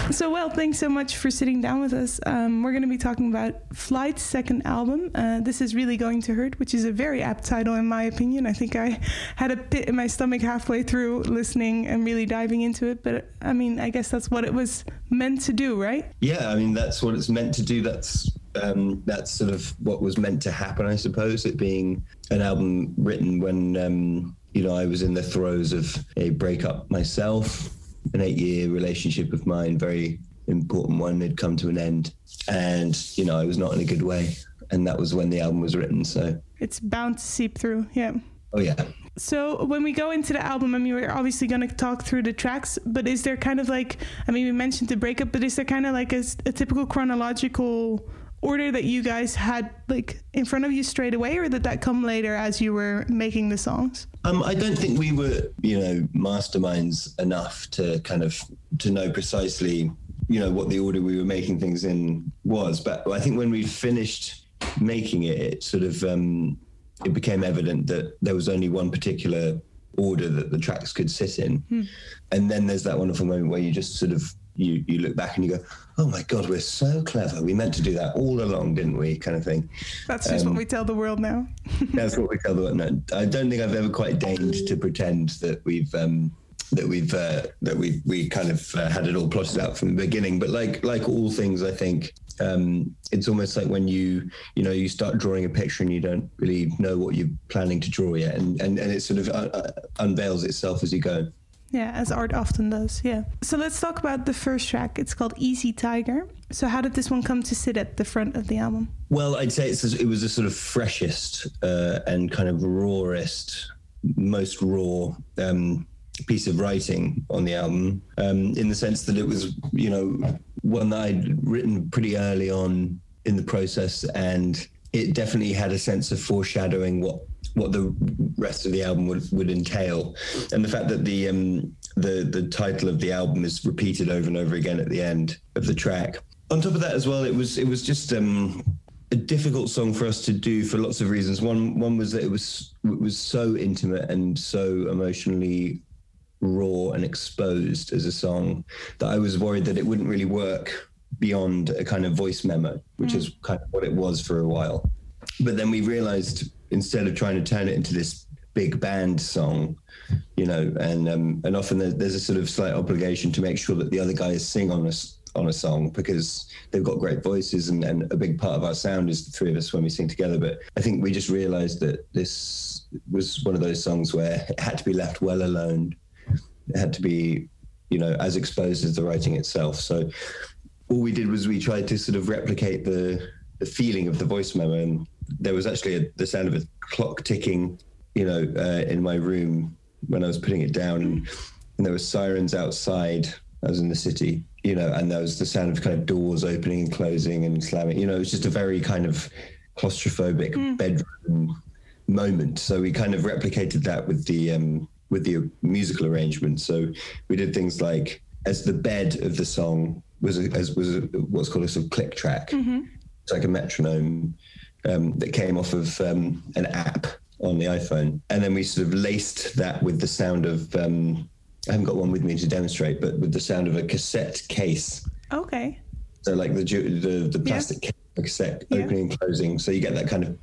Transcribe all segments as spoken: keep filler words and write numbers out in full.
So, well, thanks so much for sitting down with us. Um, we're going to be talking about Flight's second album. Uh, this is Really Going to Hurt, which is a very apt title, in my opinion. I think I had a pit in my stomach halfway through listening and really diving into it. But, I mean, I guess that's what it was meant to do, right? Yeah, I mean, that's what it's meant to do. That's um, that's sort of what was meant to happen, I suppose, it being an album written when, um, you know, I was in the throes of a breakup myself. An eight-year relationship of mine, very important one, had come to an end. And, you know, I was not in a good way. And that was when the album was written, so... It's bound to seep through, yeah. Oh, yeah. So when we go into the album, I mean, we're obviously going to talk through the tracks, but is there kind of like... I mean, we mentioned the breakup, but is there kind of like a, a typical chronological order that you guys had, like, in front of you straight away, or did that come later as you were making the songs? Um, I don't think we were, you know, masterminds enough to kind of to know precisely, you know, what the order we were making things in was. But I think when we finished making it, it sort of um, it became evident that there was only one particular order that the tracks could sit in. Hmm. And then there's that wonderful moment where you just sort of you you look back and you go, oh my God, we're so clever. We meant to do that all along, didn't we? Kind of thing. That's just um, what we tell the world now. That's what we tell the world now. I don't think I've ever quite deigned to pretend that we've um, that we've uh, that we we kind of uh, had it all plotted out from the beginning. But like like all things, I think um, it's almost like when you you know you start drawing a picture and you don't really know what you're planning to draw yet, and and, and it sort of uh, unveils itself as you go. Yeah, as art often does, yeah. So let's talk about the first track. It's called Easy Tiger. So how did this one come to sit at the front of the album? Well, I'd say it's, it was the sort of freshest uh, and kind of rawest, most raw um, piece of writing on the album, um, in the sense that it was, you know, one that I'd written pretty early on in the process, and it definitely had a sense of foreshadowing what what the rest of the album would, would entail. And the fact that the um, the the title of the album is repeated over and over again at the end of the track. On top of that as well, it was it was just um, a difficult song for us to do for lots of reasons. One one was that it was it was so intimate and so emotionally raw and exposed as a song that I was worried that it wouldn't really work beyond a kind of voice memo, which mm. is kind of what it was for a while. But then we realized, instead of trying to turn it into this big band song, you know, and um, and often there's, there's a sort of slight obligation to make sure that the other guys sing on a, on a song because they've got great voices, and, and a big part of our sound is the three of us when we sing together. But I think we just realized that this was one of those songs where it had to be left well alone. It had to be, you know, as exposed as the writing itself. So all we did was we tried to sort of replicate the the feeling of the voice memo, and there was actually a, the sound of a clock ticking, you know, uh, in my room when I was putting it down, and, and there were sirens outside. I was in the city, you know, and there was the sound of kind of doors opening and closing and slamming. You know, it was just a very kind of claustrophobic mm. bedroom moment. So we kind of replicated that with the um, with the musical arrangement. So we did things like, as the bed of the song was a, as was a, what's called a sort of click track. Mm-hmm. It's like a metronome um, that came off of um, an app on the iPhone. And then we sort of laced that with the sound of, um, I haven't got one with me to demonstrate, but with the sound of a cassette case. Okay. So like the the, the plastic yeah. cassette yeah. opening and closing. So you get that kind of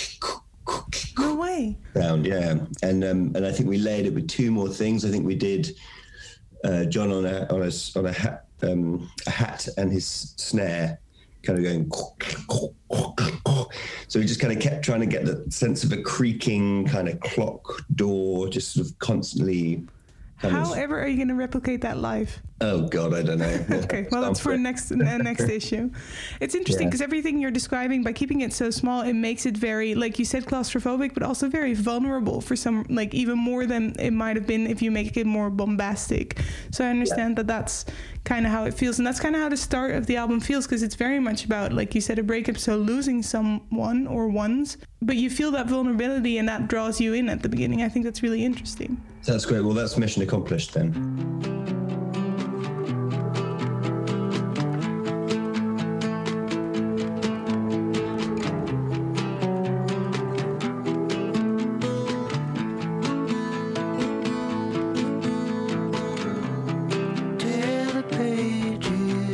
no way sound, yeah. And um, and I think we layered it with two more things. I think we did uh, John on a on a on a hat, um, a hat and his snare, kind of going. So we just kind of kept trying to get the sense of a creaking kind of clock door, just sort of constantly. However, are you going to replicate that live? Oh God, I don't know. Okay, well, that's for next uh, next issue. It's interesting because yeah. everything you're describing, by keeping it so small, it makes it very, like you said, claustrophobic, but also very vulnerable for some, like even more than it might have been if you make it more bombastic. So I understand yeah. that that's kind of how it feels, and that's kind of how the start of the album feels, because it's very much about, like you said, a breakup, so losing someone or ones, but you feel that vulnerability, and that draws you in at the beginning. I think that's really interesting. That's great. Well, that's mission accomplished then. Tear the pages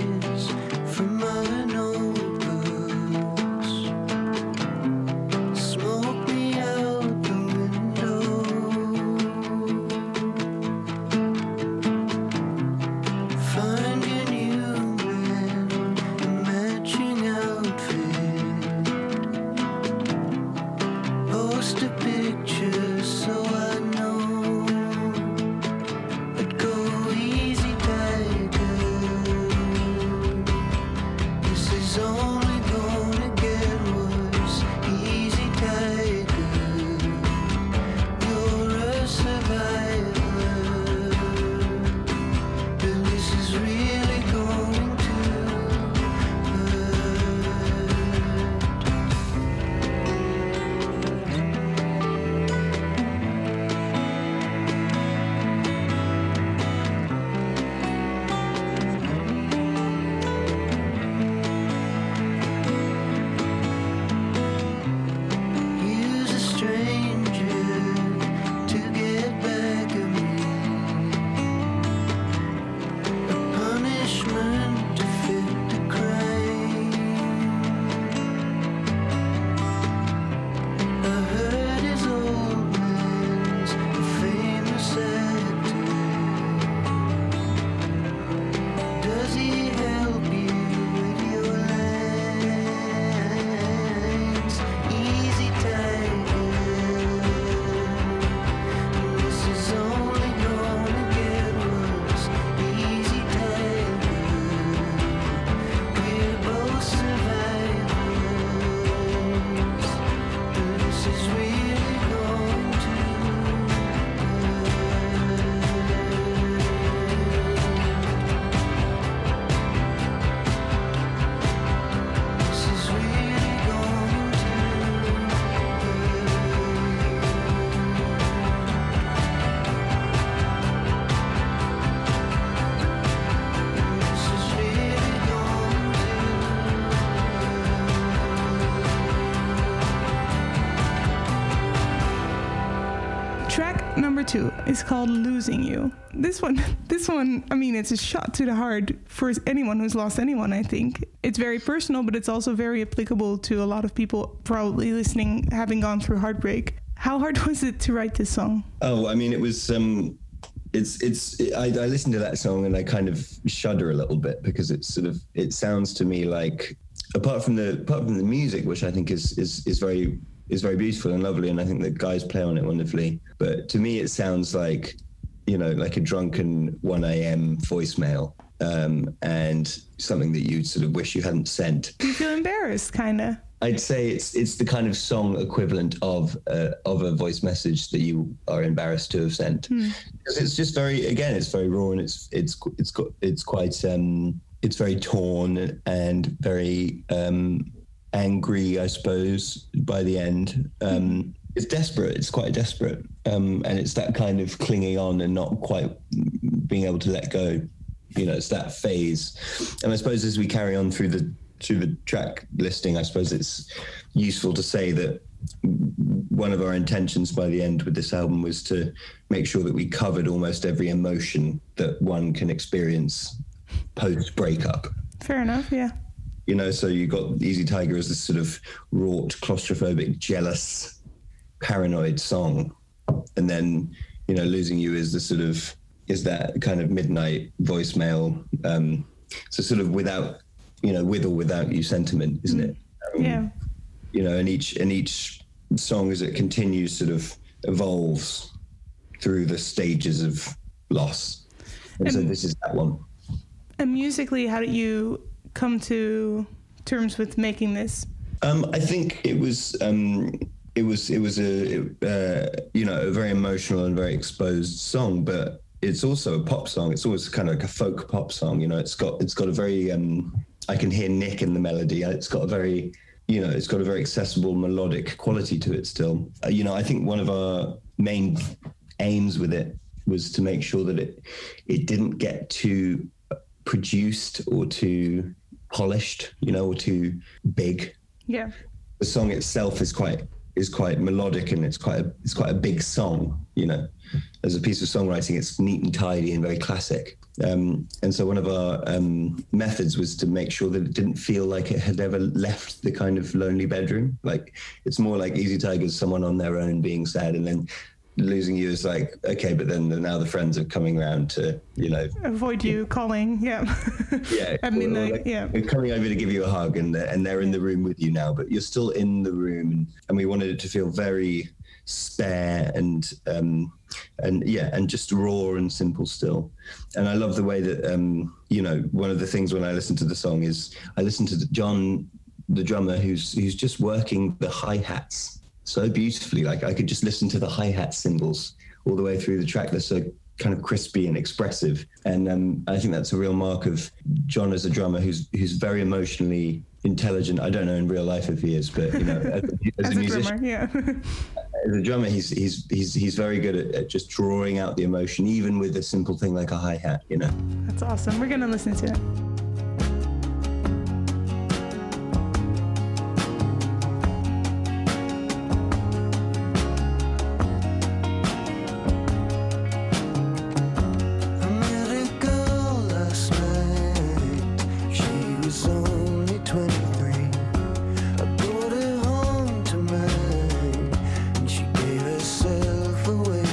Number two is called Losing You. This one, this one, I mean, it's a shot to the heart for anyone who's lost anyone, I think. It's very personal, but it's also very applicable to a lot of people probably listening, having gone through heartbreak. How hard was it to write this song? Oh, I mean, it was, um, it's, it's, it, I, I listened to that song and I kind of shudder a little bit because it's sort of, it sounds to me like, apart from the, apart from the music, which I think is, is, is very, is very beautiful and lovely, and I think the guys play on it wonderfully. But to me, it sounds like, you know, like a drunken one a.m. voicemail, um, and something that you sort of wish you hadn't sent. Do you feel embarrassed, kind of? I'd say it's it's the kind of song equivalent of uh, of a voice message that you are embarrassed to have sent. Hmm. Because it's just very, again, it's very raw and it's it's it's got it's quite um, it's very torn and very. Um, angry, I suppose, by the end. Um, it's desperate. It's quite desperate. Um, and it's that kind of clinging on and not quite being able to let go. You know, it's that phase. And I suppose as we carry on through the through the track listing, I suppose it's useful to say that one of our intentions by the end with this album was to make sure that we covered almost every emotion that one can experience post-breakup. Fair enough, yeah. You know, so you got Easy Tiger as this sort of wrought, claustrophobic, jealous, paranoid song. And then, you know, Losing You is the sort of, is that kind of midnight voicemail. Um, so sort of without, you know, with or without you sentiment, isn't it? Um, yeah. You know, and each, and each song as it continues sort of evolves through the stages of loss. And, and so this is that one. And musically, how did you come to terms with making this? Um, I think it was um, it was it was a uh, you know a very emotional and very exposed song, but it's also a pop song. It's always kind of like a folk pop song. You know, it's got it's got a very um, I can hear Nick in the melody. It's got a very you know it's got a very accessible melodic quality to it still. Uh, you know, I think one of our main aims with it was to make sure that it it didn't get too produced or too polished, you know, or too big. Yeah. The song itself is quite is quite melodic and it's quite a, it's quite a big song, you know. As a piece of songwriting, it's neat and tidy and very classic. Um, and so one of our um, methods was to make sure that it didn't feel like it had ever left the kind of lonely bedroom. Like it's more like Easy Tiger's someone on their own being sad, and then Losing You is like, okay, but then the, now the friends are coming around to, you know, avoid you calling, yeah, yeah, at midnight, like, yeah, they're coming over to give you a hug, and they're, and they're in the room with you now, but you're still in the room, and, and we wanted it to feel very spare and um and yeah, and just raw and simple still. And I love the way that um you know, one of the things when I listen to the song is I listen to the John, the drummer, who's who's just working the hi-hats so beautifully. Like I could just listen to the hi-hat cymbals all the way through the track. They're so kind of crispy and expressive. And um, I think that's a real mark of John as a drummer who's who's very emotionally intelligent. I don't know in real life if he is, but you know, as, as, as a, a musician, drummer, yeah. As a drummer, he's he's he's he's very good at, at just drawing out the emotion, even with a simple thing like a hi-hat, you know. That's awesome. We're gonna listen to it.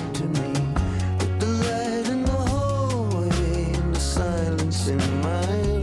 In my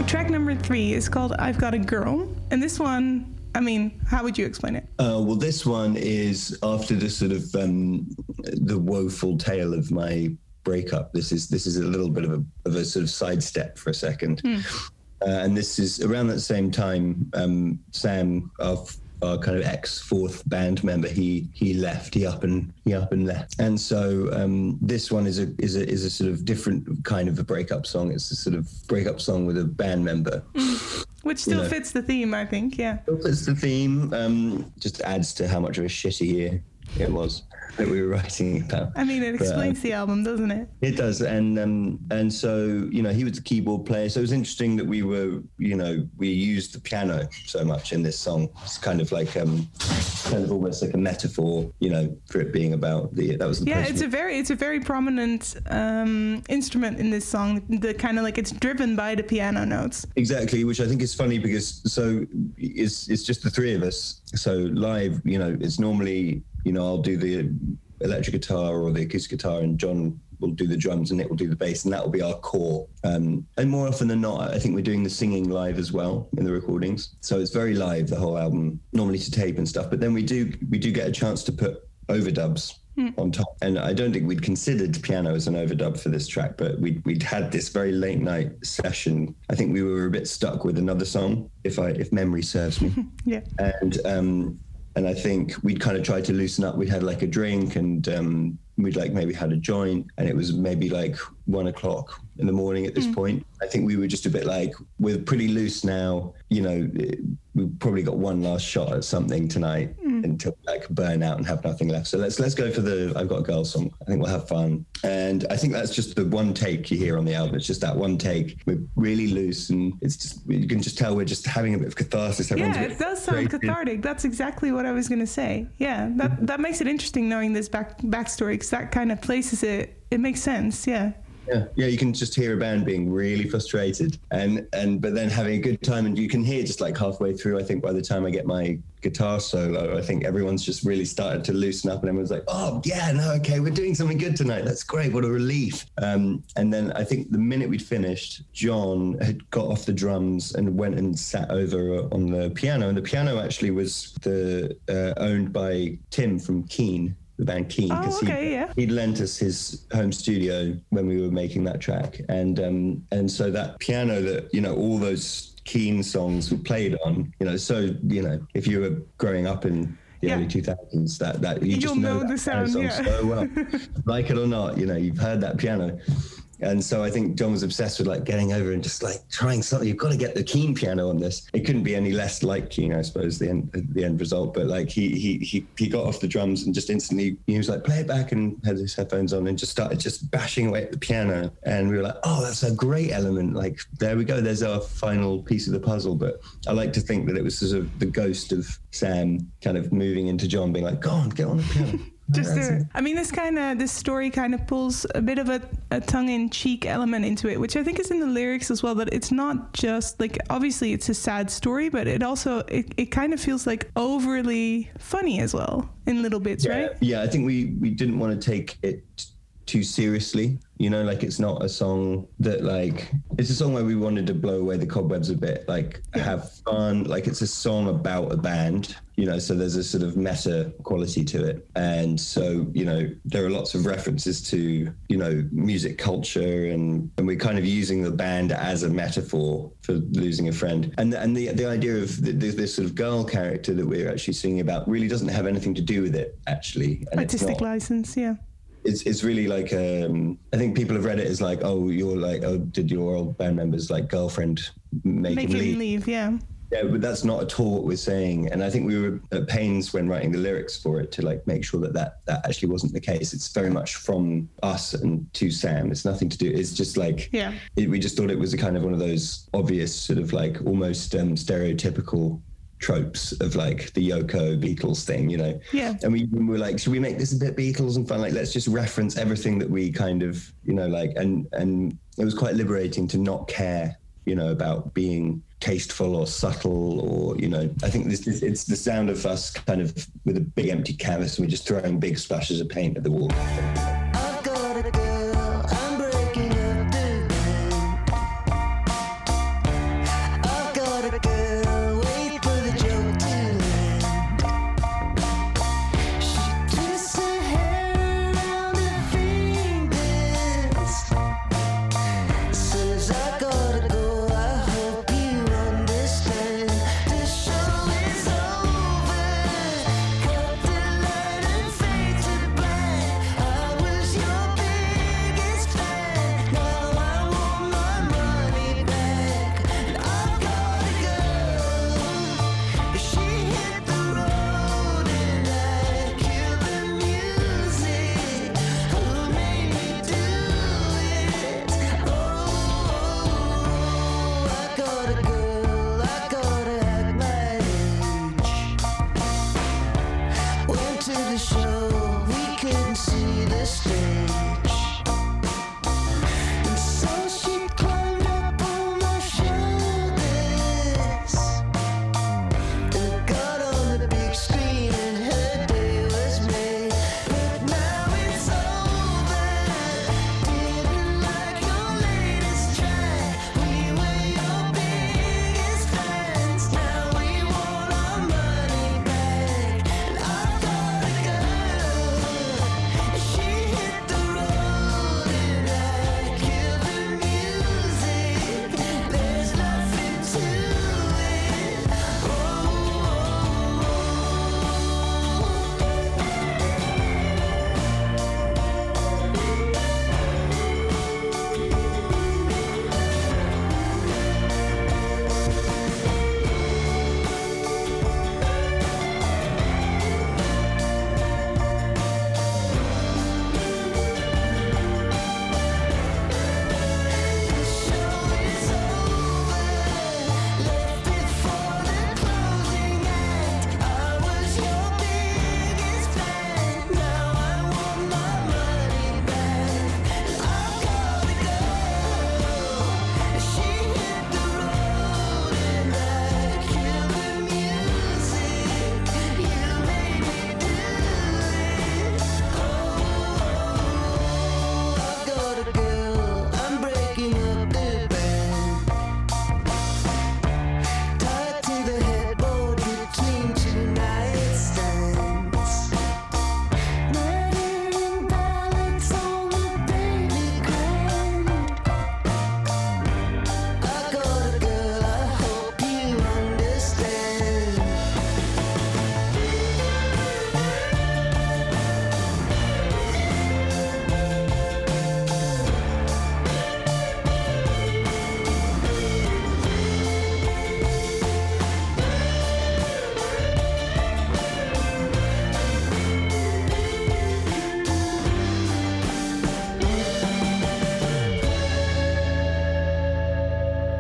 track number three is called I've Got a Girl. And this one, I mean, how would you explain it? Uh, well, this one is after the sort of um, the woeful tale of my breakup. This is this is a little bit of a, of a sort of sidestep for a second. Mm. Uh, and this is around that same time, um, Sam, our our kind of ex fourth band member, he he left, he up and he up and left, and so um, this one is a is a is a sort of different kind of a breakup song. It's a sort of breakup song with a band member, mm. which still you know, fits the theme, I think. Yeah, still fits the theme. Um, just adds to how much of a shitty year it was that we were writing about. I mean, it explains but, uh, the album, doesn't it? It does, and um, and so you know, he was the keyboard player. So it was interesting that we were, you know, we used the piano so much in this song. It's kind of like um, kind of almost like a metaphor, you know, for it being about the. That was the yeah. It's a very it's a very prominent um, instrument in this song. The kind of like it's driven by the piano notes. Exactly, which I think is funny because so it's it's just the three of us. So live, you know, it's normally. You know, I'll do the electric guitar or the acoustic guitar, and John will do the drums, and Nick will do the bass, and that will be our core. Um, and more often than not, I think we're doing the singing live as well in the recordings. So it's very live, the whole album, normally to tape and stuff. But then we do we do get a chance to put overdubs mm. on top. And I don't think we'd considered piano as an overdub for this track, but we'd, we'd had this very late night session. I think we were a bit stuck with another song, if I if memory serves me. yeah. And um, and I think we'd kind of tried to loosen up. We'd had like a drink, and um, we'd like maybe had a joint, and it was maybe like one o'clock in the morning at this mm. point. I think we were just a bit like, we're pretty loose now, you know, we've probably got one last shot at something tonight mm. until like burn out and have nothing left. So let's let's go for the I've Got a Girl song. I think we'll have fun. And I think that's just the one take you hear on the album. It's just that one take. We're really loose, and it's just, you can just tell we're just having a bit of catharsis. Everyone's yeah, it does sound creative. Cathartic. That's exactly what I was going to say. Yeah, that mm-hmm. that makes it interesting knowing this back backstory, because that kind of places it. It makes sense. Yeah. Yeah, yeah, you can just hear a band being really frustrated, and and but then having a good time, and you can hear just like halfway through. I think by the time I get my guitar solo, I think everyone's just really started to loosen up, and everyone's like, "Oh yeah, no, okay, we're doing something good tonight. That's great. What a relief!" Um, and then I think the minute we'd finished, John had got off the drums and went and sat over on the piano, and the piano actually was the uh, owned by Tim from Keane. The band Keane, because oh, okay, he, yeah. he'd lent us his home studio when we were making that track, and um, and so that piano that, you know, all those Keane songs were played on, you know, so, you know, if you were growing up in the yeah. early two thousands, that that you You'll just know, know that the sound, song yeah. so well, like it or not, you know, you've heard that piano. And so I think John was obsessed with like getting over and just like trying something. You've got to get the Keane piano on this. It couldn't be any less like Keane, I suppose, the end the end result. But like he he he he got off the drums and just instantly he was like, play it back, and had his headphones on and just started just bashing away at the piano. And we were like, oh, that's a great element. Like, there we go. There's our final piece of the puzzle. But I like to think that it was sort of the ghost of Sam kind of moving into John, being like, go on, get on the piano. Just there. I mean, this kind of this story kind of pulls a bit of a, a tongue-in-cheek element into it, which I think is in the lyrics as well. That it's not just like, obviously it's a sad story, but it also it, it kind of feels like overly funny as well in little bits, yeah. right? Yeah, I think we we didn't want to take it too seriously. You know, like it's not a song that like, it's a song where we wanted to blow away the cobwebs a bit, like have fun. Like it's a song about a band, you know, so there's a sort of meta quality to it. And so, you know, there are lots of references to, you know, music culture, and, and we're kind of using the band as a metaphor for losing a friend. And, and the the idea of the, this sort of girl character that we're actually singing about really doesn't have anything to do with it, actually. And artistic it's not, license, yeah. It's it's really like, um, I think people have read it as like, oh, you're like, oh, did your old band members like girlfriend make, make him, him leave? leave? Yeah. Yeah, but that's not at all what we're saying. And I think we were at pains when writing the lyrics for it to like make sure that that, that actually wasn't the case. It's very much from us and to Sam. It's nothing to do. It's just like, yeah. It, we just thought it was a kind of one of those obvious sort of like almost um, stereotypical tropes of like the Yoko Beatles thing, you know? Yeah. And we, we were like, should we make this a bit Beatles and fun? Like, let's just reference everything that we kind of, you know, like, and, and it was quite liberating to not care, you know, about being tasteful or subtle or, you know, I think this is, it's the sound of us kind of with a big empty canvas and we're just throwing big splashes of paint at the wall. I've got a girl, I'm breaking up the band.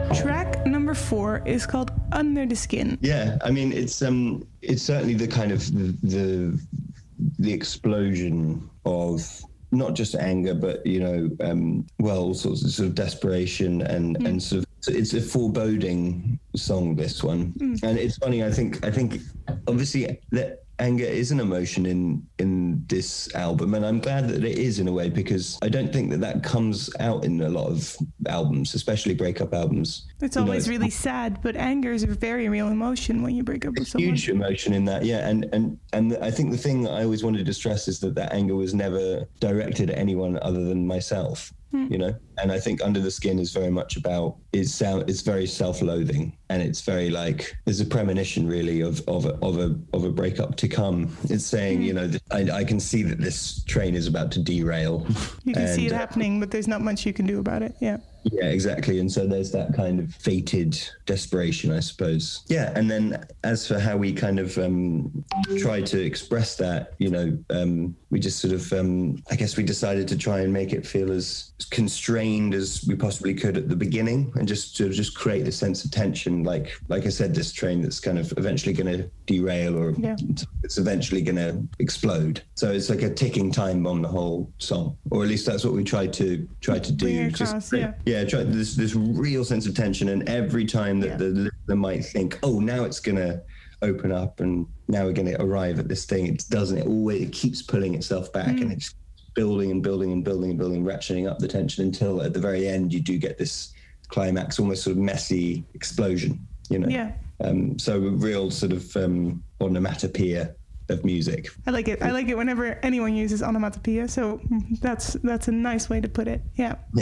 Track number four is called Under the Skin. Yeah, I mean, it's um, it's certainly the kind of the the, the explosion of not just anger, but you know, um, well, all sorts of sort of desperation and mm. and sort of. So it's a foreboding song, this one, mm. and it's funny. I think I think obviously that anger is an emotion in in this album, and I'm glad that it is in a way, because I don't think that that comes out in a lot of albums, especially breakup albums. It's you always know, really sad, but anger is a very real emotion when you break up with someone. Huge emotion in that, yeah. And and and I think the thing I always wanted to stress is that that anger was never directed at anyone other than myself. Mm. You know, and I think Under the Skin is very much about it's sound it's very self-loathing, and it's very like there's a premonition really of of a, of a of a breakup to come. It's saying, mm. you know, I, I can see that this train is about to derail. You can and, see it happening, but there's not much you can do about it. Yeah. Yeah, exactly. And so there's that kind of fated desperation, I suppose. Yeah. And then as for how we kind of um, try to express that, you know, um, we just sort of, um, I guess we decided to try and make it feel as constrained as we possibly could at the beginning, and just sort of just create a sense of tension. Like, like I said, this train that's kind of eventually going to derail, or yeah. it's eventually going to explode. So it's like a ticking time bomb, the whole song, or at least that's what we tried to try to do. Across, just, yeah. Yeah, try this this real sense of tension, and every time that yeah. the listener might think, "Oh, now it's gonna open up, and now we're gonna arrive at this thing," it doesn't. It always it keeps pulling itself back, mm. and it's building and building and building and building, ratcheting up the tension until at the very end you do get this climax, almost sort of messy explosion. You know. Yeah. Um, so a real sort of um, onomatopoeia of music. I like it. I like it whenever anyone uses onomatopoeia. So that's that's a nice way to put it. Yeah. Yeah.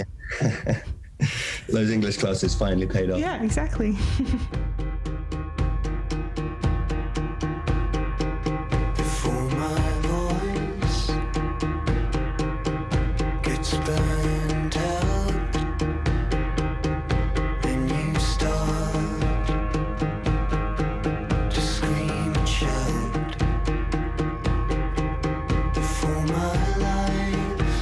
Those English classes finally paid off. Yeah, exactly. Before my voice gets burned out and you start to scream and shout, before my life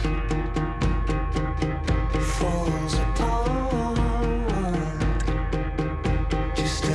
falls apart, just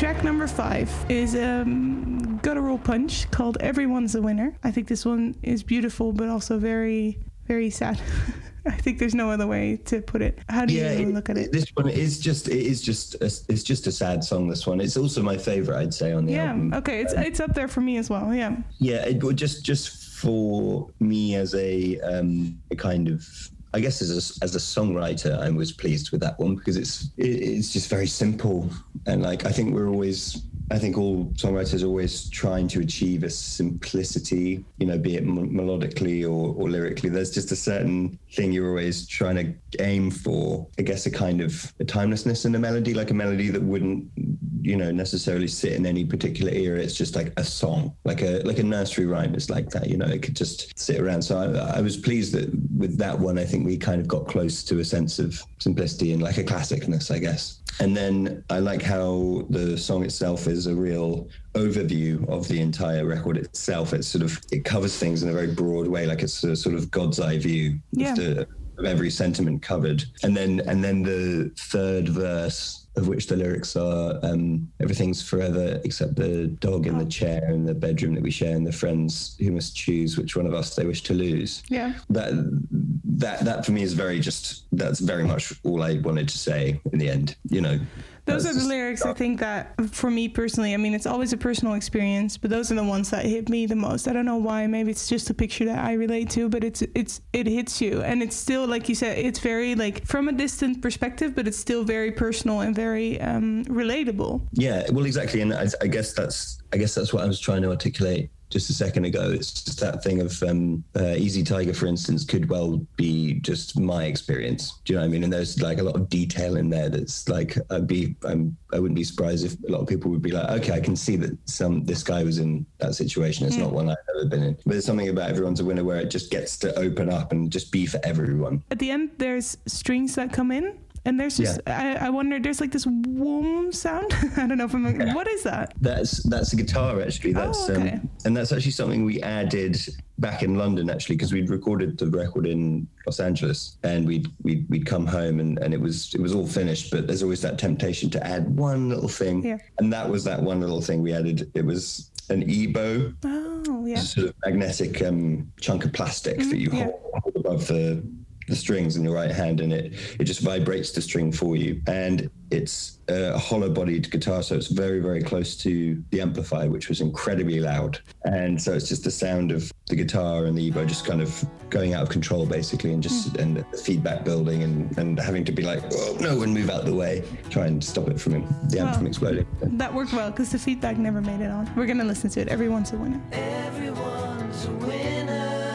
Track number five is um, Guttural Punch called Everyone's a Winner. I think this one is beautiful, but also very, very sad. I think there's no other way to put it. How do yeah, you it, look at it? This one is just it is just a, it's just a sad song. This one. It's also my favorite, I'd say, on the Yeah. album. Okay. It's it's up there for me as well. Yeah. Yeah, it would just just for me as a um, a kind of. I guess as a, as a songwriter, I was pleased with that one because it's it, it's just very simple, and like I think we're always, I think all songwriters are always trying to achieve a simplicity, you know, be it m- melodically or, or lyrically. There's just a certain thing you're always trying to aim for. I guess a kind of a timelessness in a melody, like a melody that wouldn't, you know, necessarily sit in any particular era. It's just like a song, like a like a nursery rhyme is like that, you know. It could just sit around. So I, I was pleased that with that one, I think we kind of got close to a sense of simplicity and like a classicness, I guess. And then I like how the song itself is a real overview of the entire record itself. It's sort of, it covers things in a very broad way, like it's a sort of God's eye view Yeah. of, the, of every sentiment covered. And then and then the third verse, of which the lyrics are um, everything's forever except the dog in the chair in the bedroom that we share and the friends who must choose which one of us they wish to lose. Yeah. That that that for me is very just that's very much all I wanted to say in the end, you know. Those That's are the just- lyrics, I think, that for me personally, I mean, it's always a personal experience, but those are the ones that hit me the most. I don't know why. Maybe it's just a picture that I relate to, but it's it's it hits you. And it's still, like you said, it's very, like, from a distant perspective, but it's still very personal and very um, relatable. Yeah, well, exactly, and I, I guess that's I guess that's what I was trying to articulate just a second ago. It's just that thing of um, uh, Easy Tiger, for instance, could well be just my experience. Do you know what I mean? And there's like a lot of detail in there that's like I'd be I'm I wouldn't be surprised if a lot of people would be like, okay, I can see that some this guy was in that situation. It's Mm. not one I've ever been in. But there's something about Everyone's a Winner where it just gets to open up and just be for everyone. At the end, there's strings that come in. And there's just, I, I wonder, there's like this whoom sound. I don't know if I'm, Yeah. what is that? That's that's a guitar actually. That's Oh, okay. um, and that's actually something we added back in London actually because we'd recorded the record in Los Angeles and we'd we'd, we'd come home and, and it was it was all finished, but there's always that temptation to add one little thing. Yeah. And that was that one little thing we added. It was an E-bow, Oh, yeah. a sort of magnetic um, chunk of plastic that you yeah. hold, hold above the the strings in your right hand, and it it just vibrates the string for you. And it's a hollow-bodied guitar, so it's very, very close to the amplifier, which was incredibly loud. And so it's just the sound of the guitar and the E-bow just kind of going out of control, basically, and just and the feedback building and, and having to be like, oh, no, and move out the way, try and stop it from the amp Wow. from exploding. That worked well because the feedback never made it on. We're going to listen to it. Everyone's a winner. Everyone's a winner.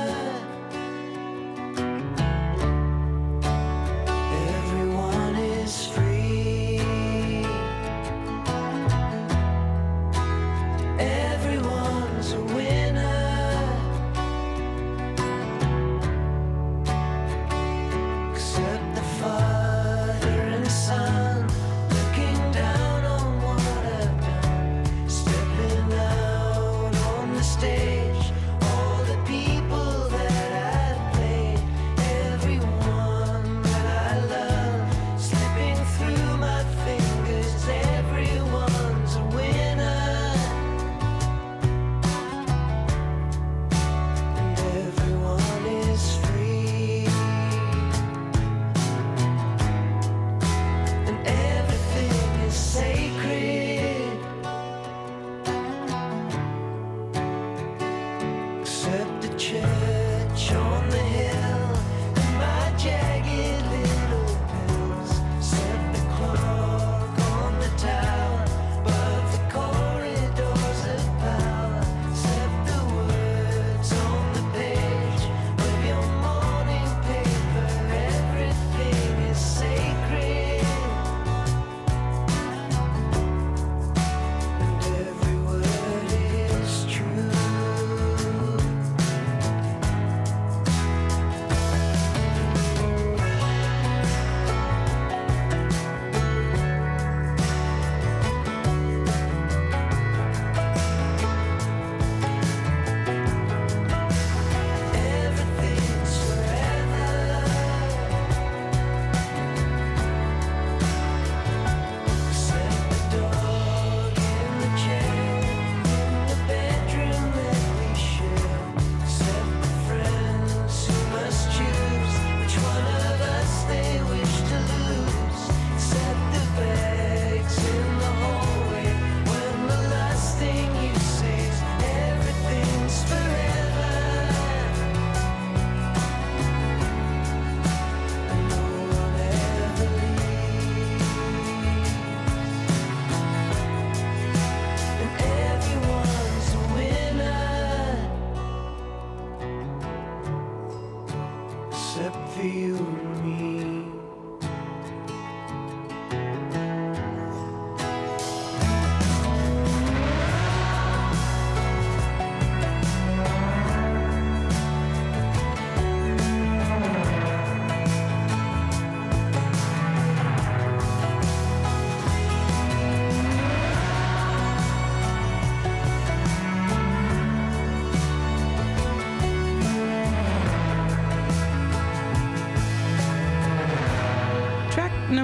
Everyone is free. Everyone's a winner. Except the father and son looking down on what I've done. Stepping out on the stage, all the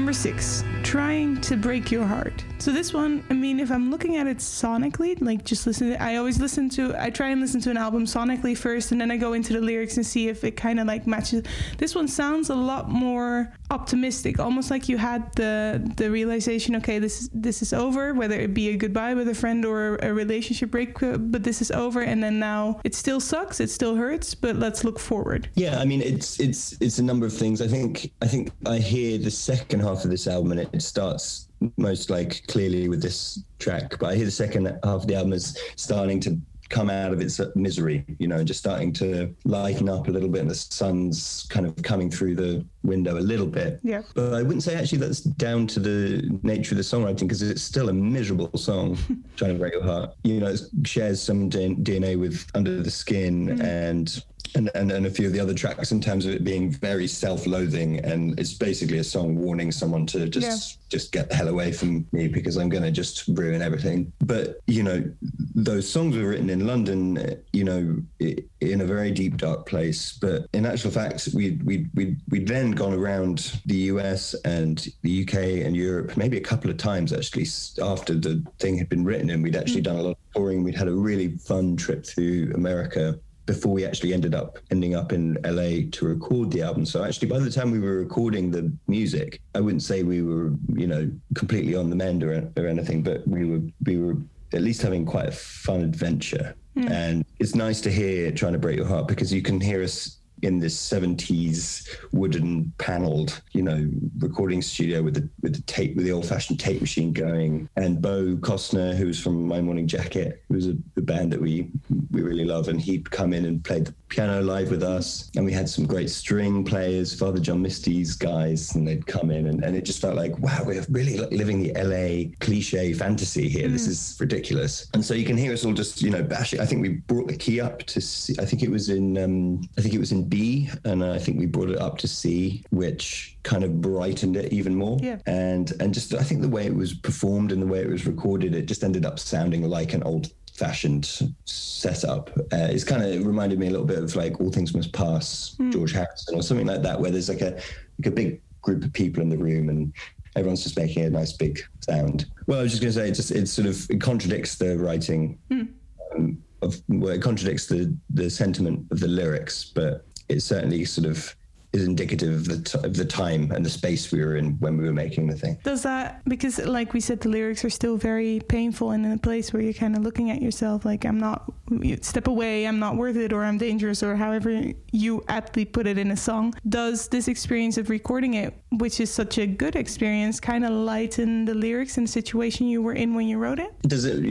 Number six, Trying to Break Your Heart. So this one, I mean, if I'm looking at it sonically, like just listen to, I always listen to, I try and listen to an album sonically first, and then I go into the lyrics and see if it kind of like matches. This one sounds a lot more optimistic, almost like you had the the realization, okay, this, this is over, whether it be a goodbye with a friend or a relationship break, but this is over, and then now it still sucks, it still hurts, but let's look forward. Yeah, I mean, it's it's it's a number of things. I think I think I hear the second half of this album, and it, it starts most like clearly with this track, but I hear the second half of the album is starting to come out of its misery, you know, and just starting to lighten up a little bit, and the sun's kind of coming through the window a little bit. Yeah. But I wouldn't say actually that's down to the nature of the songwriting, because it's still a miserable song, Trying to Break Your Heart. You know, it shares some D N A with Under the Skin mm-hmm. and And, and and a few of the other tracks in terms of it being very self-loathing, and it's basically a song warning someone to just yeah. just get the hell away from me because I'm going to just ruin everything. But, you know, those songs were written in London, you know, in a very deep, dark place. But in actual fact, we'd, we'd, we'd, we'd then gone around the U S and the U K and Europe maybe a couple of times, actually, after the thing had been written, and we'd actually mm. done a lot of touring. We'd had a really fun trip through America before we actually ended up ending up in L A to record the album. So actually, by the time we were recording the music, I wouldn't say we were, you know, completely on the mend or, or anything, but we were we were at least having quite a fun adventure. Mm. And it's nice to hear Trying to Break Your Heart, because you can hear us in this seventies wooden panelled, you know, recording studio with the with the tape, with the old-fashioned tape machine going. And Bo Costner, who was from My Morning Jacket, who was a, a band that we we really love, and he'd come in and played the piano live with us. And we had some great string players, Father John Misty's guys, and they'd come in, and, and it just felt like, wow, we're really living the L A cliche fantasy here. Mm. This is ridiculous. And so you can hear us all just, you know, bashing. I think we brought the key up to C. I think it was in, um, I think it was in B, and I think we brought it up to C, which kind of brightened it even more. Yeah. And and just I think the way it was performed and the way it was recorded, it just ended up sounding like an old-fashioned setup. Uh, it's kind of reminded me a little bit of like All Things Must Pass, mm. George Harrison, or something like that, where there's like a like a big group of people in the room and everyone's just making a nice big sound. Well, I was just going to say, it just it sort of it contradicts the writing. Mm. Um, of well, it contradicts the the sentiment of the lyrics, but it certainly sort of is indicative of the t- of the time and the space we were in when we were making the thing. Does that, because like we said, the lyrics are still very painful and in a place where you're kind of looking at yourself like, I'm not, step away, I'm not worth it, or I'm dangerous, or however you aptly put it in a song. Does this experience of recording it, which is such a good experience, kind of lighten the lyrics and the situation you were in when you wrote it? Does it?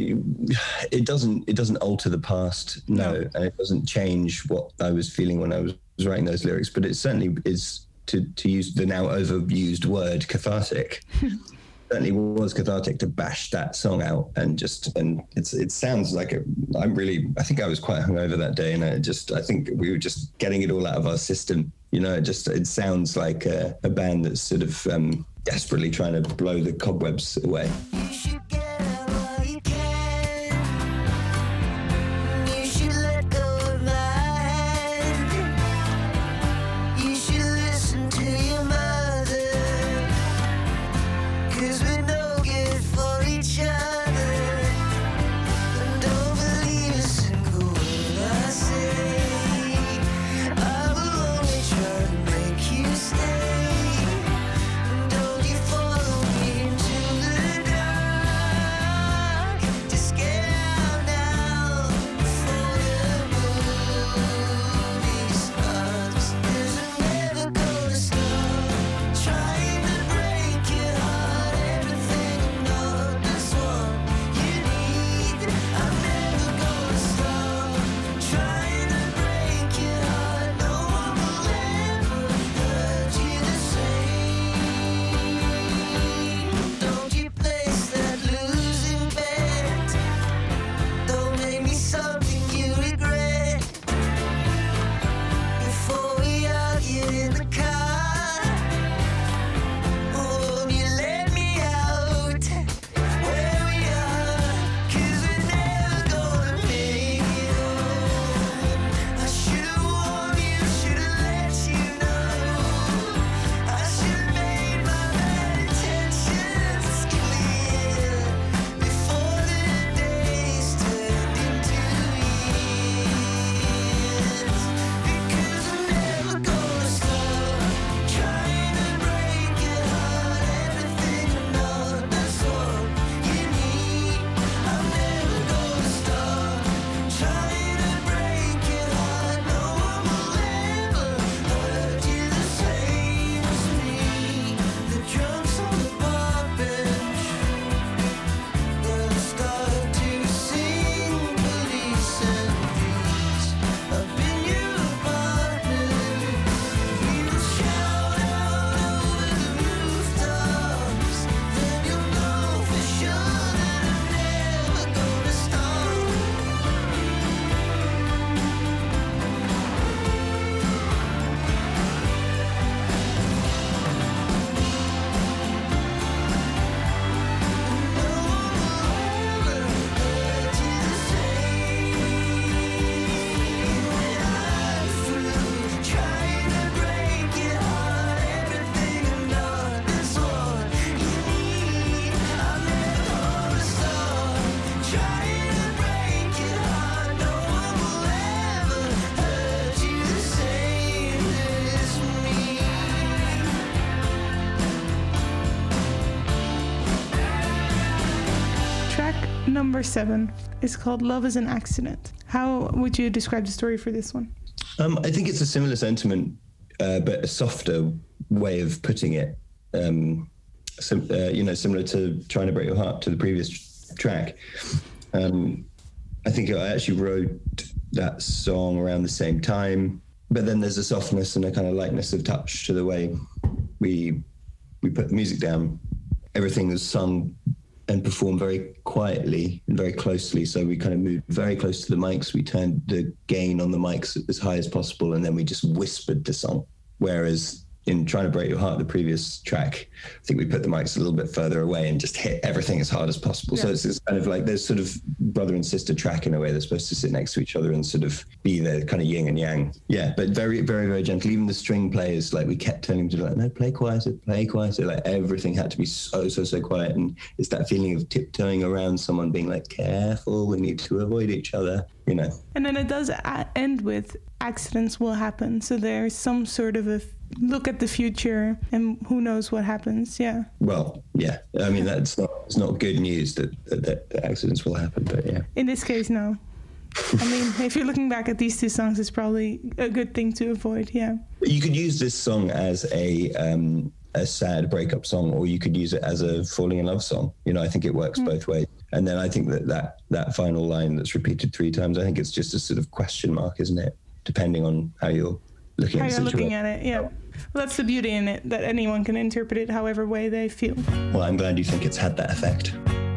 It doesn't. It doesn't alter the past, no, no. And it doesn't change what I was feeling when I was writing those lyrics, but it certainly is, to to use the now overused word, cathartic. Certainly was cathartic to bash that song out, and just and it's it sounds like a, I'm really I think I was quite hungover that day, and I just I think we were just getting it all out of our system. You know, it just it sounds like a, a band that's sort of um, desperately trying to blow the cobwebs away. You should get what you can. You should let go of my hand. You should listen to your mother, 'cause we're no good for each other. And don't believe a single word I say. I will only try to make you stay. And don't you follow me into the dark. number seven is called Love is an Accident. How would you describe the story for this one? Um, I think it's a similar sentiment, uh, but a softer way of putting it. Um, sim- uh, you know, similar to Trying to Break Your Heart, to the previous track. Um, I think I actually wrote that song around the same time, but then there's a softness and a kind of lightness of touch to the way we we put the music down. Everything was sung and performed very quietly and very closely. So we kind of moved very close to the mics. We turned the gain on the mics as high as possible, and then we just whispered the song. Whereas in Trying to Break Your Heart, the previous track, I think we put the mics a little bit further away and just hit everything as hard as possible. Yeah. So it's, it's kind of like there's sort of brother and sister track in a way. They're supposed to sit next to each other and sort of be the kind of yin and yang. Yeah, but very, very, very gentle. Even the string players, like we kept telling them to like, no, play quieter, play quieter. Like everything had to be so, so, so quiet. And it's that feeling of tiptoeing around someone, being like, careful, we need to avoid each other, you know. And then it does a- end with accidents will happen. So there's some sort of a look at the future and who knows what happens. Yeah. Well, yeah. I mean, that's not, it's not good news that, that, that accidents will happen, but yeah. In this case, no. I mean, if you're looking back at these two songs, it's probably a good thing to avoid. Yeah. You could use this song as a, um, a sad breakup song, or you could use it as a falling in love song. You know, I think it works mm. both ways. And then I think that, that that final line that's repeated three times, I think it's just a sort of question mark, isn't it? Depending on how you're looking how at the you're situation. looking at it, yeah. Well, that's the beauty in it, that anyone can interpret it however way they feel. Well, I'm glad you think it's had that effect.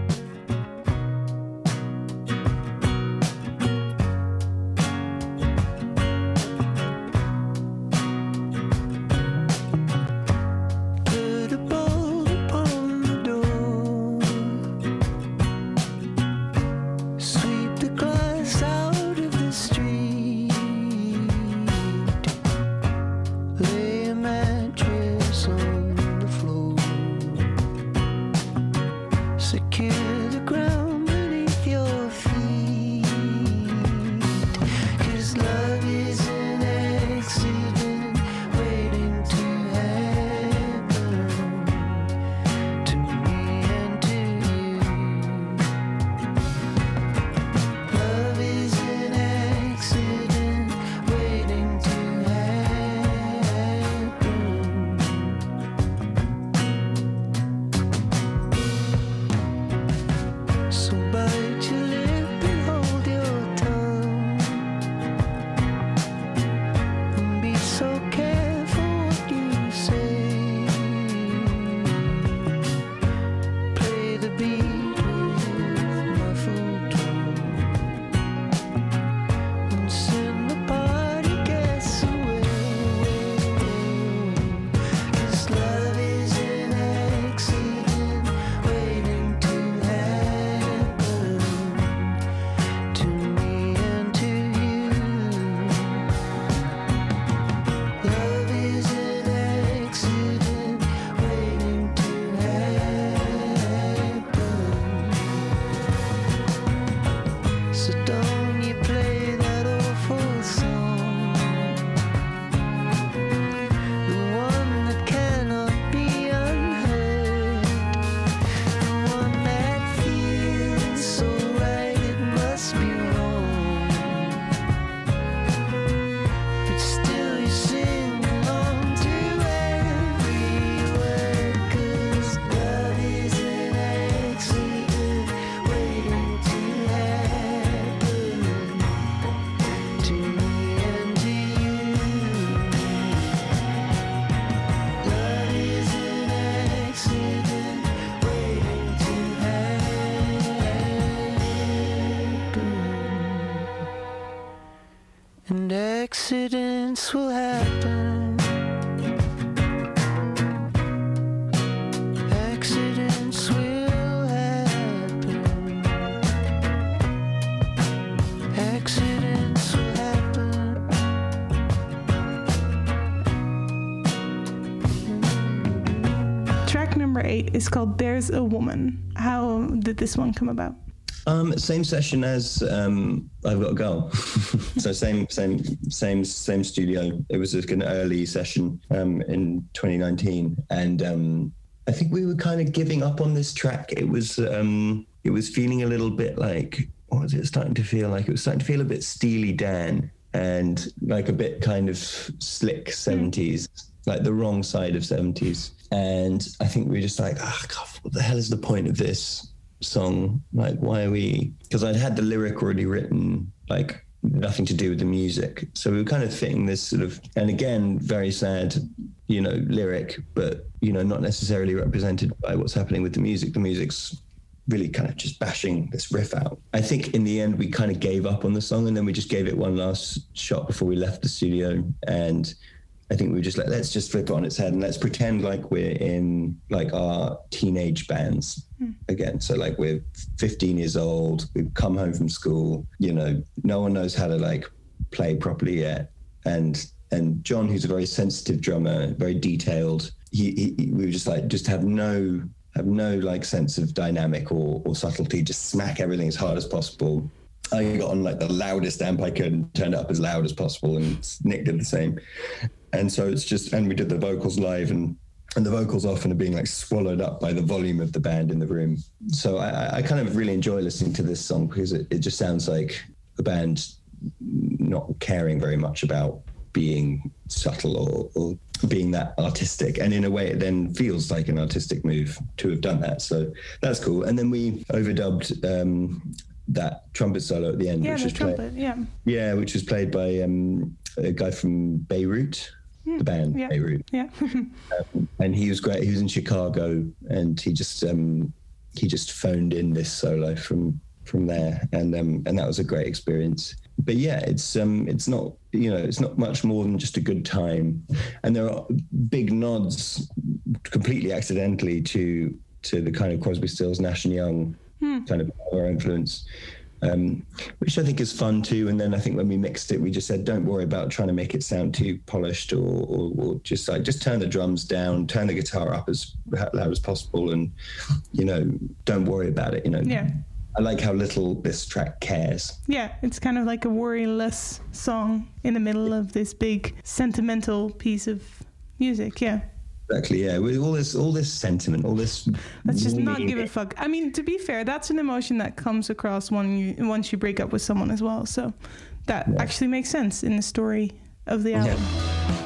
Accidents will happen. Accidents will happen. Accidents will happen. Track number eight is called There's a Woman. How did this one come about? Um, same session as um, I've Got a Girl. So same, same, same, same studio. It was like an early session um, in twenty nineteen, and um, I think we were kind of giving up on this track. It was um, it was feeling a little bit like, what was it starting to feel like? It was starting to feel a bit Steely Dan and like a bit kind of slick seventies, mm. like the wrong side of seventies. And I think we were just like, oh, God, what the hell is the point of this song? Like, why are we... Because I'd had the lyric already written, like nothing to do with the music. So we were kind of fitting this sort of, and again, very sad, you know, lyric, but, you know, not necessarily represented by what's happening with the music. The music's really kind of just bashing this riff out. I think in the end, we kind of gave up on the song, and then we just gave it one last shot before we left the studio. And I think we were just like, let's just flip it on its head and let's pretend like we're in like our teenage bands mm. again. So like we're fifteen years old, we've come home from school, you know, no one knows how to like play properly yet. And and John, who's a very sensitive drummer, very detailed, he, he we were just like, just have no have no like sense of dynamic or, or subtlety, just smack everything as hard as possible. I got on like the loudest amp I could and turned it up as loud as possible, and Nick did the same. And so it's just, and we did the vocals live, and and the vocals often are being like swallowed up by the volume of the band in the room. So I, I kind of really enjoy listening to this song because it, it just sounds like a band not caring very much about being subtle or, or being that artistic. And in a way, it then feels like an artistic move to have done that. So that's cool. And then we overdubbed um, that trumpet solo at the end, yeah, which the was trumpet, played, yeah, yeah, which was played by um, a guy from Beirut, mm, the band yeah, Beirut, yeah, um, and he was great. He was in Chicago, and he just um, he just phoned in this solo from from there, and um, and that was a great experience. But yeah, it's um, it's not you know it's not much more than just a good time, and there are big nods, completely accidentally, to to the kind of Crosby, Stills, Nash and Young hmm. kind of our influence, um, which I think is fun too. And then I think when we mixed it, we just said, don't worry about trying to make it sound too polished, or, or, or just like just turn the drums down, turn the guitar up as loud as possible, and you know don't worry about it. You know. Yeah. I like how little this track cares. Yeah, it's kind of like a worryless song in the middle of this big sentimental piece of music. Yeah. Exactly, yeah. With all this, all this sentiment, all this. Let's just not give a fuck. I mean, to be fair, that's an emotion that comes across when you once you break up with someone as well. So that yeah. actually makes sense in the story of the album. Yeah.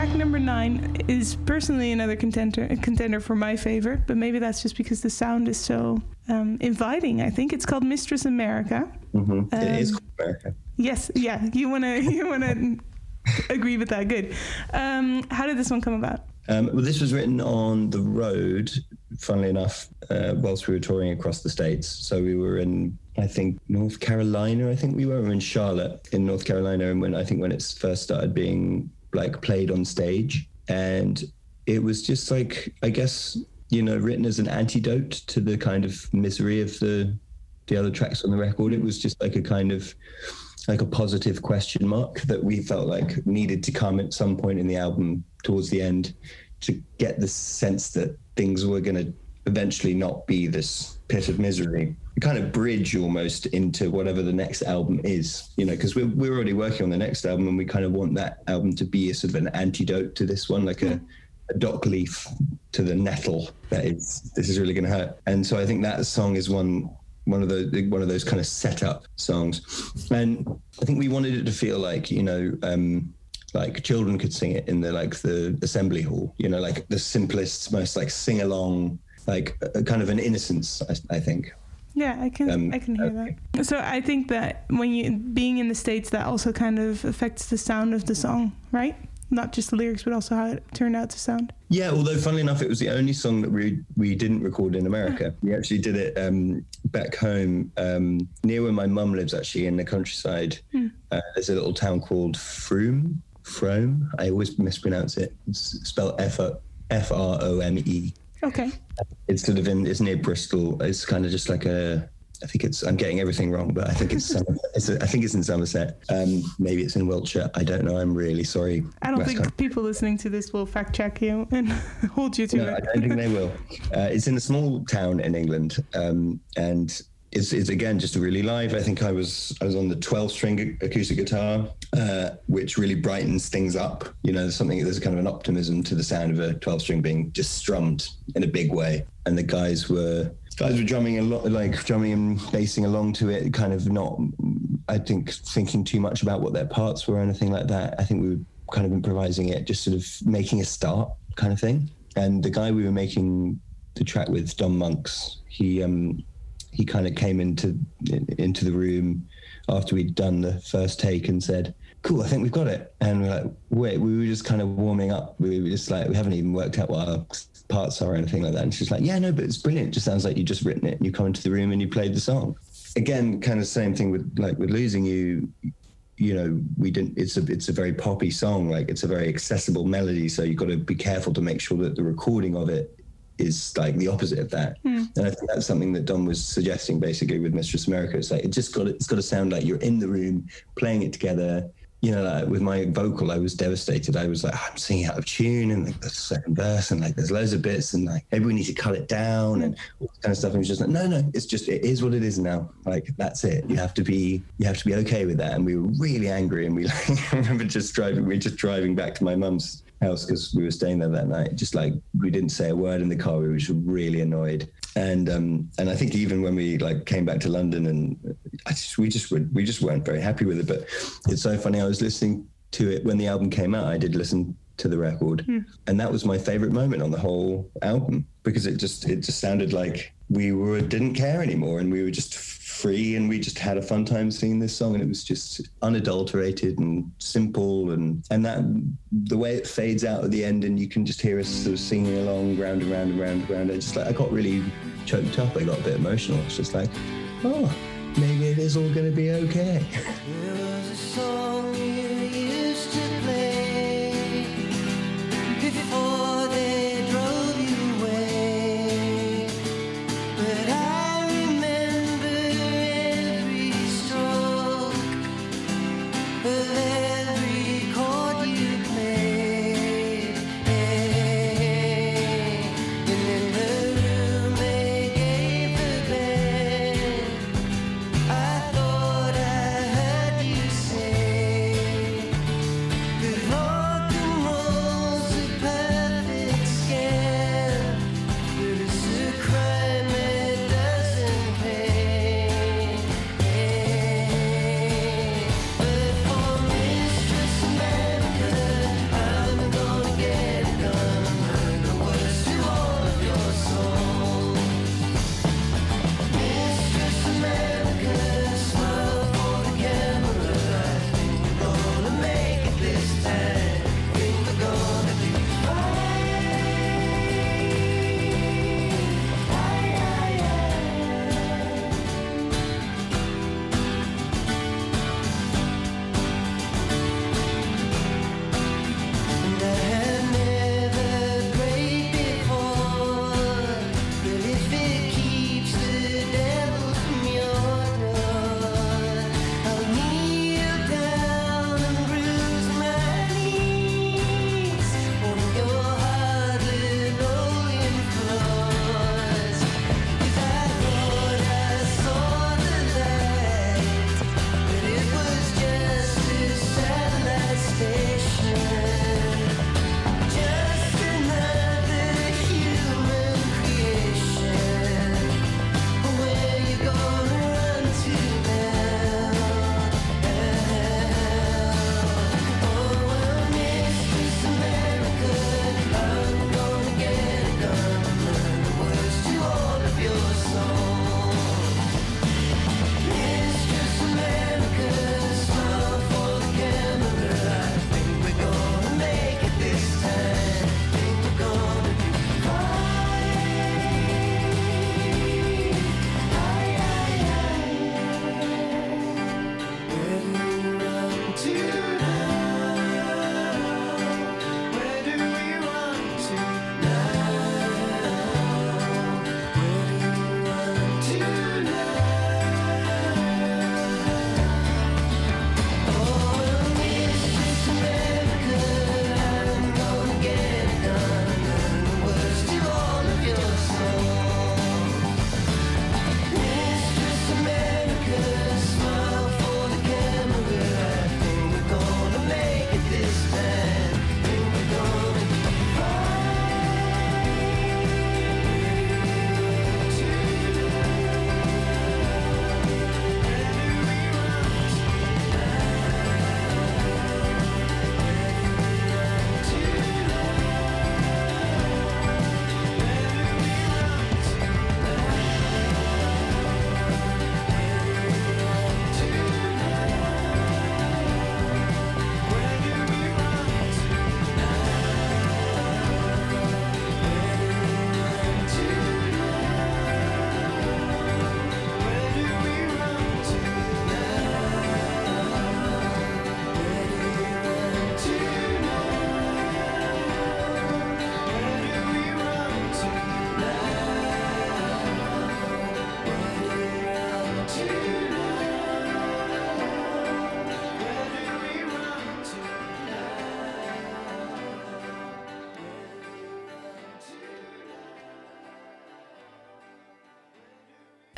track number nine is personally another contender contender for my favorite, but maybe that's just because the sound is so um, inviting. I think it's called Mistress America. Mm-hmm. Um, it is called America. Yes, yeah, you wanna you wanna agree with that? Good. Um, how did this one come about? Um, well, this was written on the road, funnily enough, uh, whilst we were touring across the States. So we were in, I think, North Carolina. I think we were, we were in Charlotte, in North Carolina, and when I think when it first started being like played on stage, and it was just like, I guess, you know, written as an antidote to the kind of misery of the the other tracks on the record. It was just like a kind of like a positive question mark that we felt like needed to come at some point in the album towards the end to get the sense that things were going to eventually not be this pit of misery. A kind of bridge almost into whatever the next album is, you know, because we're, we're already working on the next album, and we kind of want that album to be a sort of an antidote to this one, like a, a dock leaf to the nettle that is, this is really going to hurt. And so I think that song is one one of the one of those kind of setup songs, and I think we wanted it to feel like, you know, um, like children could sing it in the like the assembly hall, you know, like the simplest, most like sing along, like a, kind of an innocence, I, I think. Yeah, I can um, I can hear okay. that. So I think that when you being in the States, that also kind of affects the sound of the song, right? Not just the lyrics, but also how it turned out to sound. Yeah, although funnily enough, it was the only song that we we didn't record in America. We actually did it um, back home um, near where my mum lives, actually, in the countryside. Mm. Uh, there's a little town called Frome. Frome. I always mispronounce it. It's spelled F R O M E. Okay. It's sort of in, it's near Bristol. It's kind of just like a, I think it's, I'm getting everything wrong, but I think it's, it's a, I think it's in Somerset. Um, maybe it's in Wiltshire. I don't know. I'm really sorry. I don't think people listening to this will fact check you and hold you to no, it. I don't think they will. Uh, it's in a small town in England. Um, and it's, it's again, just really live. I think I was, I was on the twelve string acoustic guitar, uh, which really brightens things up. You know, there's something, there's kind of an optimism to the sound of a twelve string being just strummed in a big way. And the guys were, Guys were drumming a lot, like drumming and bassing along to it, kind of not, I think, thinking too much about what their parts were or anything like that. I think we were kind of improvising it, just sort of making a start kind of thing. And the guy we were making the track with, Don Monks, he um, he kind of came into into the room after we'd done the first take and said, cool, I think we've got it. And we're like, wait, we were just kind of warming up. We were just like, we haven't even worked out what our parts are or anything like that. And she's like, yeah, no, but it's brilliant. It just sounds like you just written it and you come into the room and you played the song. Again, kind of same thing with like with Losing You, you know, we didn't, it's a, it's a very poppy song. Like it's a very accessible melody. So you've got to be careful to make sure that the recording of it is like the opposite of that. Mm. And I think that's something that Don was suggesting basically with Mistress America. It's like, it just got, it's got to sound like you're in the room playing it together. You know, like with my vocal, I was devastated. I was like, I'm singing out of tune, and like the second verse, and like there's loads of bits, and like maybe we need to cut it down, and all this kind of stuff. And it was just like, no, no, it's just it is what it is now. Like that's it. You have to be, you have to be okay with that. And we were really angry, and we like, I remember just driving, we were just driving back to my mum's house because we were staying there that night. Just like we didn't say a word in the car. We were just really annoyed. And um, and I think even when we like came back to London, and I just, we just were, we just weren't very happy with it. But it's so funny. I was listening to it when the album came out. I did listen to the record, mm. and that was my favorite moment on the whole album because it just it just sounded like we were didn't care anymore, and we were just free, and we just had a fun time singing this song, and it was just unadulterated and simple, and and that the way it fades out at the end, and you can just hear us sort of singing along round and round and round and round. I just like I got really choked up. I got a bit emotional. It's just like, oh, maybe it is all going to be okay. There was a song you used to play before they drove you away, but I remember every stroke of every chord you played, and in the room they gave the bed, I thought I heard you say that rock and roll's a perfect scam, but it's a crime that doesn't pay. But for me,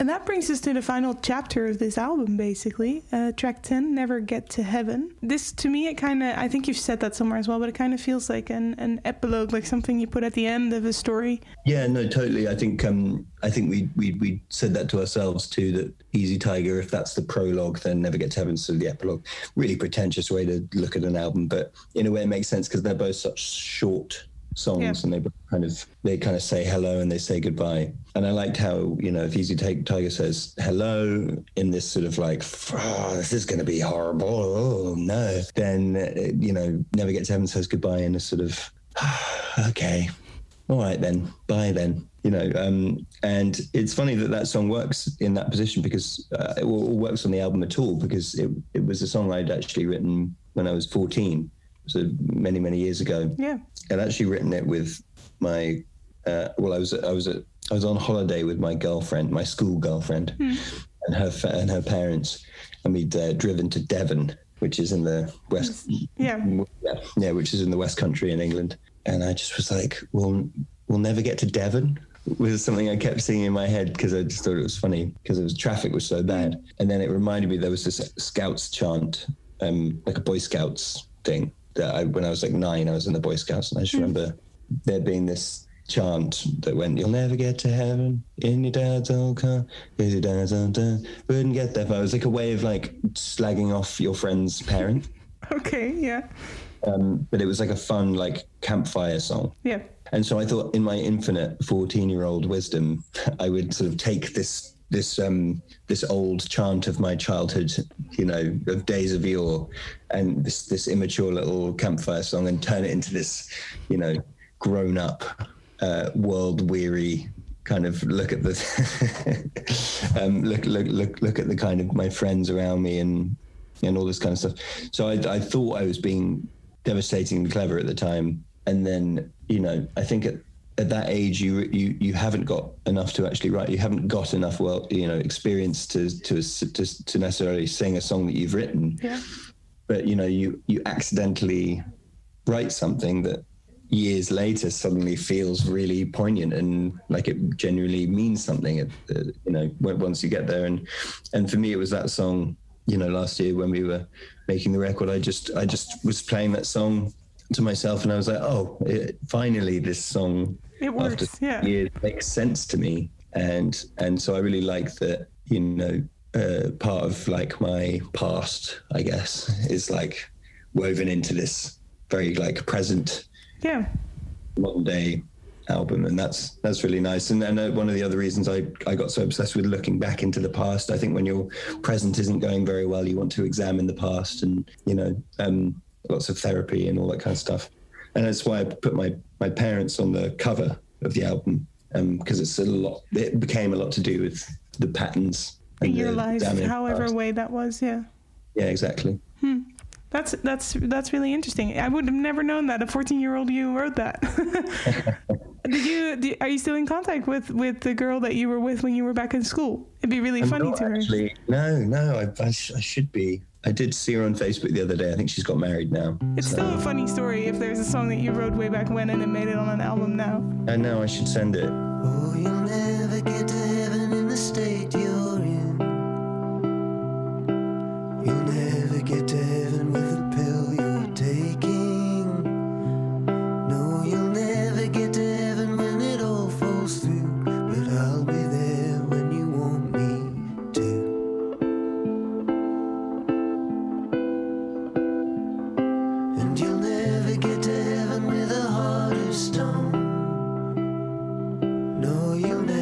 And that brings us to the final chapter of this album, basically. Uh, track ten, Never Get to Heaven. This, to me, it kind of, I think you've said that somewhere as well, but it kind of feels like an, an epilogue, like something you put at the end of a story. Yeah, no, totally. I think um, I think we, we we said that to ourselves too, that Easy Tiger, if that's the prologue, then Never Get to Heaven, so the epilogue. Really pretentious way to look at an album, but in a way it makes sense because they're both such short songs, yeah. and they kind of they kind of say hello and they say goodbye. And I liked how, you know, if Easy Tiger says hello in this sort of like, oh, this is going to be horrible, oh no, then uh, you know, Never Get to Heaven says goodbye in a sort of oh, okay, all right then, bye then, you know. Um, and it's funny that that song works in that position because uh, it works on the album at all, because it it was a song I'd actually written when I was fourteen. So many, many years ago. Yeah. I'd actually written it with my, uh, well, I was, I was, at, I was on holiday with my girlfriend, my school girlfriend, mm. and her fa- and her parents, and we'd uh, driven to Devon, which is in the west. Yeah. yeah. Yeah, which is in the West Country in England. And I just was like, "We'll, we'll never get to Devon." Was something I kept singing in my head because I just thought it was funny because it was traffic was so bad. And then it reminded me there was this Scouts chant, um, like a Boy Scouts thing. That I, when I was like nine, I was in the Boy Scouts, and I just mm. remember there being this chant that went, "You'll never get to heaven in your dad's old car, because your dad's old car wouldn't get there." But it was like a way of like slagging off your friend's parent. Okay, yeah. Um, but it was like a fun like campfire song. Yeah. And so I thought, in my infinite fourteen-year-old wisdom, I would sort of take this. this um this old chant of my childhood, you know, of days of yore, and this this immature little campfire song, and turn it into this, you know, grown up, uh, world weary kind of look at the um, look look look look at the kind of my friends around me and and all this kind of stuff. So I, I thought I was being devastatingly clever at the time, and then, you know, I think at at that age, you you you haven't got enough to actually write. You haven't got enough, well, you know, experience to to to, to necessarily sing a song that you've written. Yeah. But you know, you you accidentally write something that years later suddenly feels really poignant and like it genuinely means something. Uh, you know, once you get there. And and for me, it was that song. You know, last year when we were making the record, I just I just was playing that song to myself, and I was like, oh, it, finally this song, it works, after yeah, years, makes sense to me. And and so I really like that, you know, uh, part of like my past, I guess, is like woven into this very like present, yeah, modern day album, and that's that's really nice. And then uh, one of the other reasons I, I got so obsessed with looking back into the past, I think when your present isn't going very well, you want to examine the past, and you know, um, lots of therapy and all that kind of stuff. And that's why I put my my parents on the cover of the album, because um, it's a lot. It became a lot to do with the patterns in your life, however past. way that was. Yeah. Yeah, exactly. Hmm. That's that's that's really interesting. I would have never known that a fourteen-year-old you wrote that. Did you? Did, are you still in contact with, with the girl that you were with when you were back in school? It'd be really I'm funny not to her. Actually, no, no. I, I, sh- I should be. I did see her on Facebook the other day. I think she's got married now. It's so. Still a funny story if there's a song that you wrote way back when and it made it on an album now. I know. I should send it. Oh, you'll never get to heaven in the state you're in. You'll never get to heaven with the pill you're taking. No, you'll never get to heaven when it all falls through. But I'll be there when you want me to. And you'll never get to heaven with a heart of stone. No, you'll never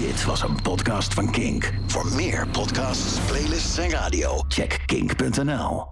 Dit was een podcast van Kink. Voor meer podcasts, playlists en radio, check kink punt n l.